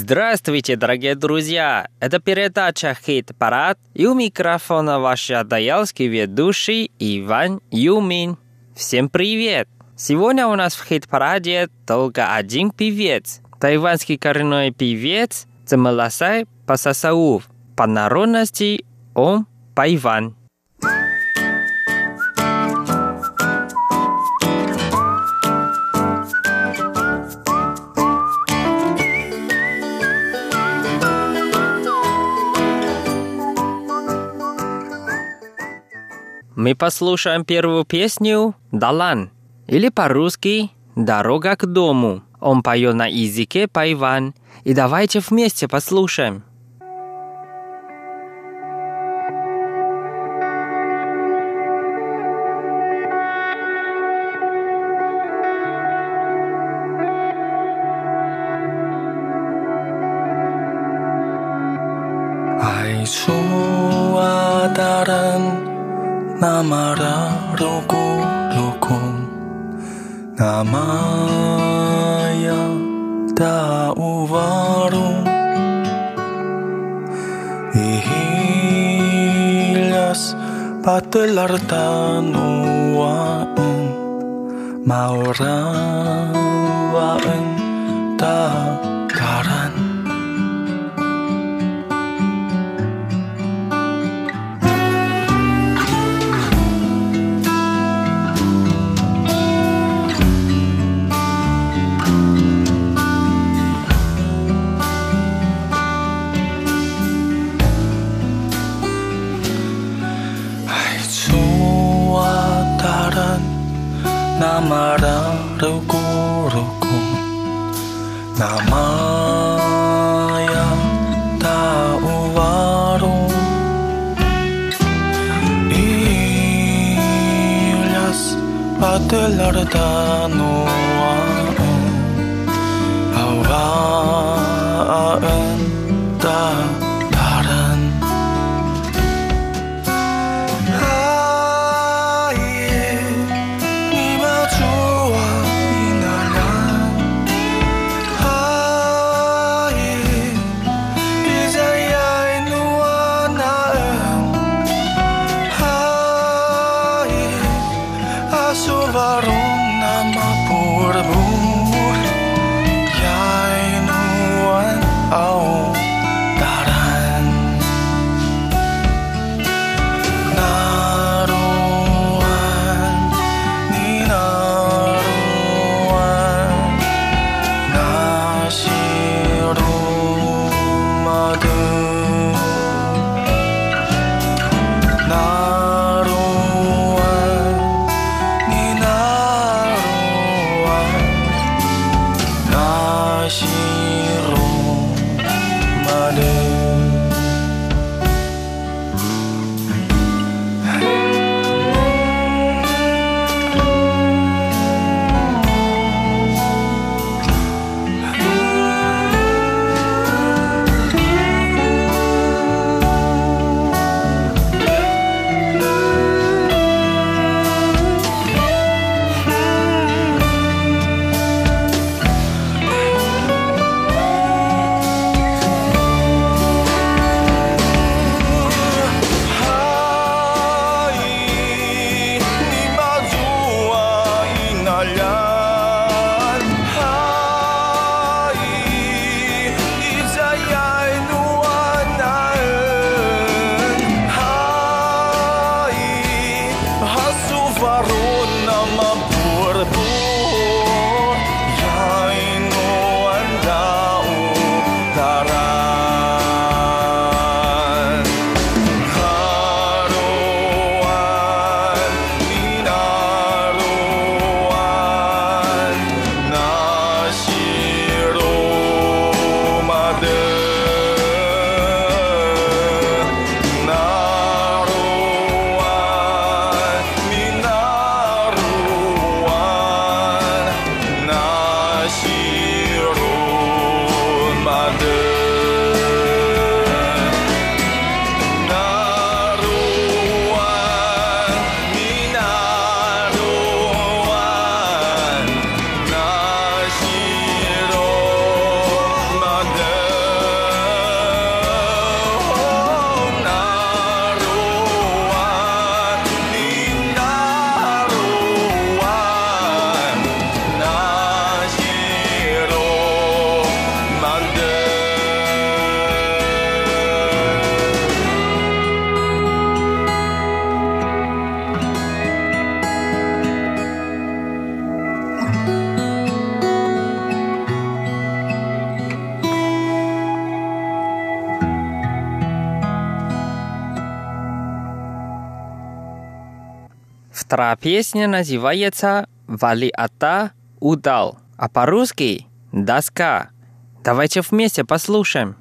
Здравствуйте, дорогие друзья! Это передача «Хит-парад», и у микрофона ваш адаялский ведущий Иван Юмин. Всем привет! Сегодня у нас в «Хит-параде» только один певец. Тайванский коренной певец Цемэласай Пасасаув. По народности он Пайван. Мы послушаем первую песню «Далан», или по-русски «Дорога к дому». Он поет на языке пайван, и давайте вместе послушаем. Айсуа даран Намара руку Намая да увару Ihilias patelartanuaan Maurawaan takaran Namara ruku Namaya ta'uwaru Ilyas patelartanuaan Awaan ta'taran Ya'inuan au daran Вторая песня называется «Вали ата удал», а по-русски «Доска». Давайте вместе послушаем.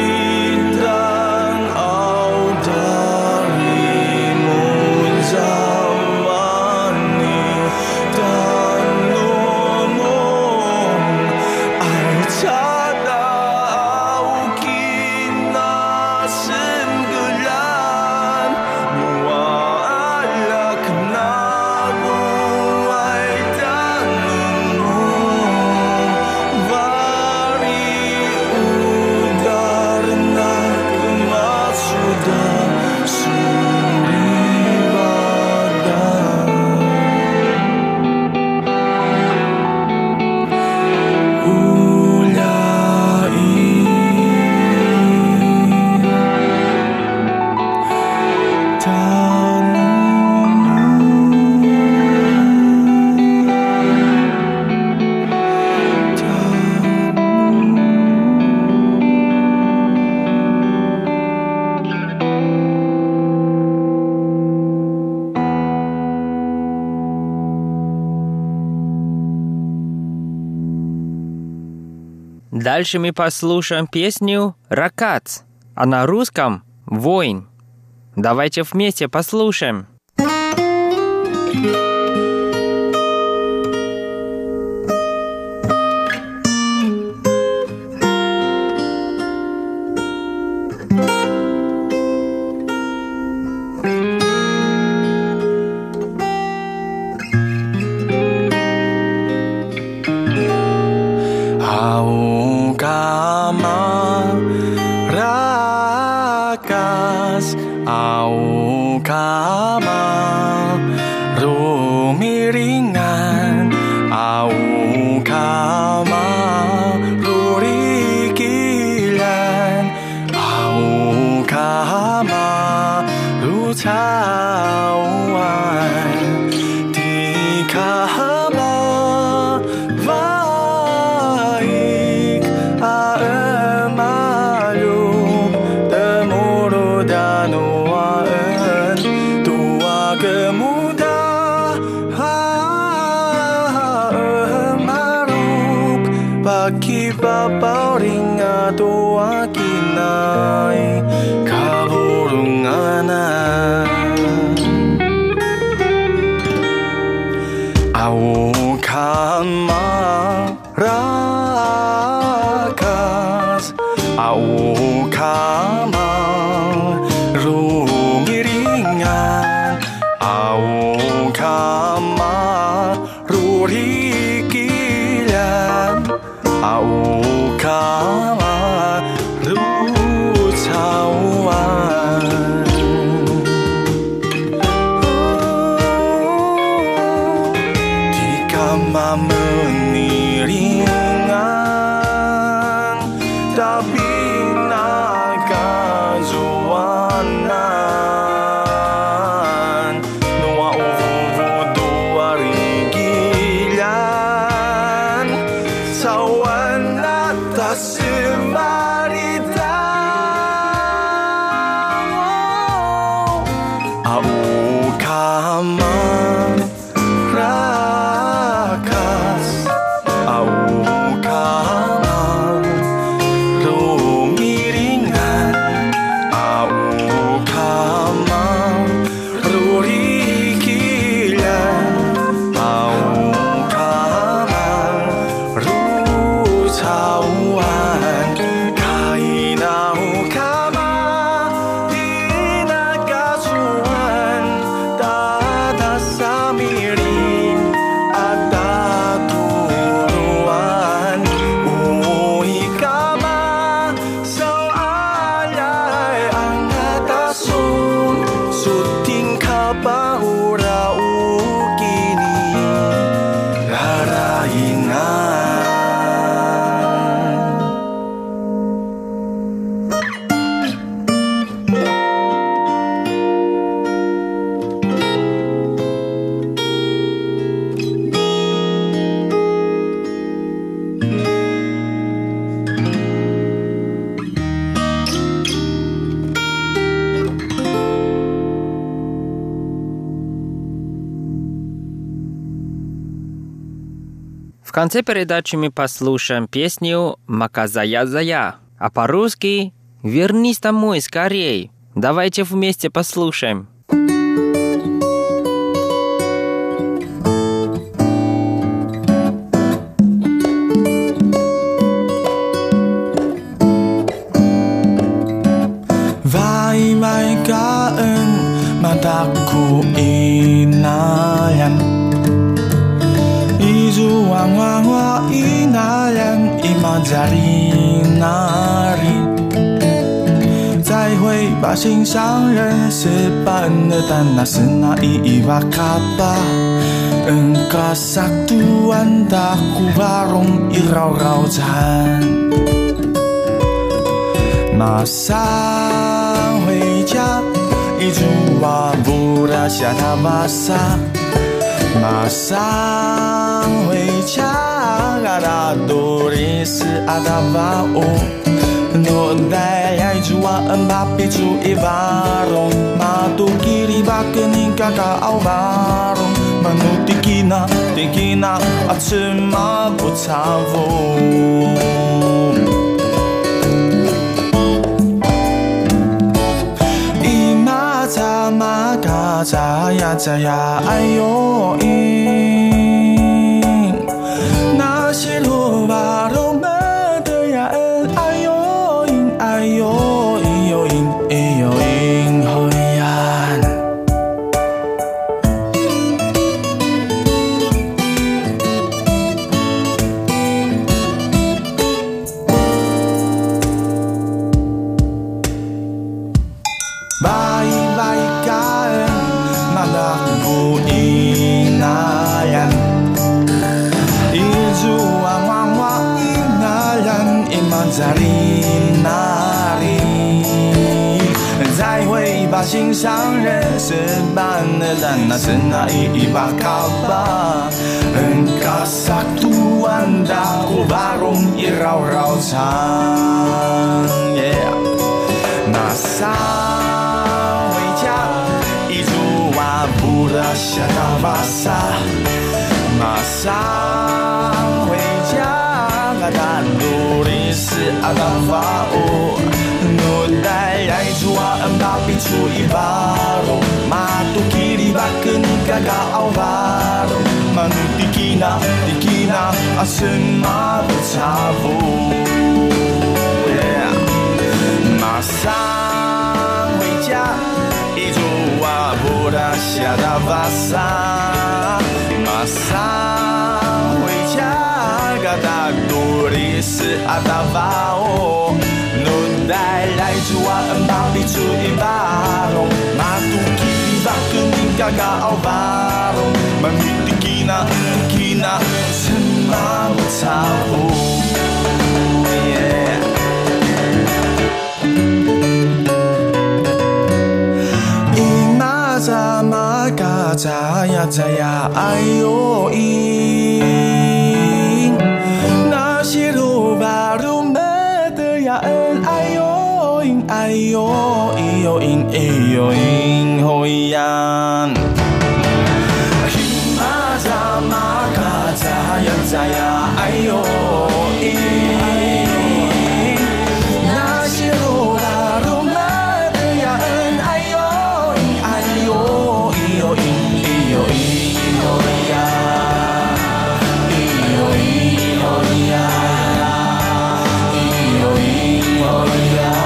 자 Дальше мы послушаем песню «Ракац», а на русском «Воин». Давайте вместе послушаем. В конце передачи мы послушаем песню «Маказая-зая», а по-русски «Вернись домой скорей». Давайте вместе послушаем. Vai-vai kaan mataku inayan Izuang-wang-wa inayan imajari nari 再会吧心上人是般的但那是那一瓦卡巴 Engkau satuan daku warung irau-raucan Masang 回家一株瓦布拉下他瓦萨 Masang 回家 ada tulis ada bau No daya jua embapi ju ivarong Matu kiri bakening kakak au barong Manutiquina, tiquina, atsima butavo. Imata makata ya zaya ayo in. Nasilu baru medaya ayo in ayo iyo in iyo in hoyan. Baik-baikan malakbu inayan. Izuang wangwa inayan imanzari nari. 才会把心上人是般的淡，那是那一把卡巴。Engkau satu anda ku barung irau-rau sang, yeah. 马上回家，一株瓦布的夏大巴萨。马上回家，阿达努力是阿达法乌。努带来主啊，恩巴比出一巴罗，马杜基里巴根嘎嘎奥巴罗，马努迪基纳阿什马布查布。马上回家，一株瓦布的夏大巴萨。马上回家，嘎达努力是阿达法乌。带来主啊，恩巴比出一巴龙，马杜基里巴根尼嘎嘎奥巴龙，马努迪基纳，什么不差不。ima sama kacaya jaya ayo in, nasiru baru medaya ayo iyo in hoyan. Ima sama kacaya jaya ayo in, nasiru baru medaya ayo iyo in hoyan. Iyo in hoyan. Iyo in hoyan.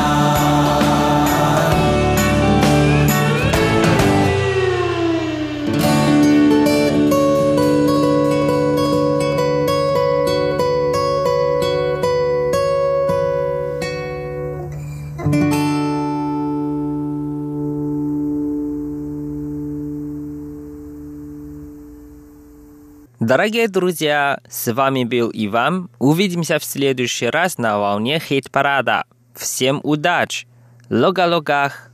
Дорогие друзья, с вами был Иван. Увидимся в следующий раз на волне хит-парада. Всем удачи! Лога-логах!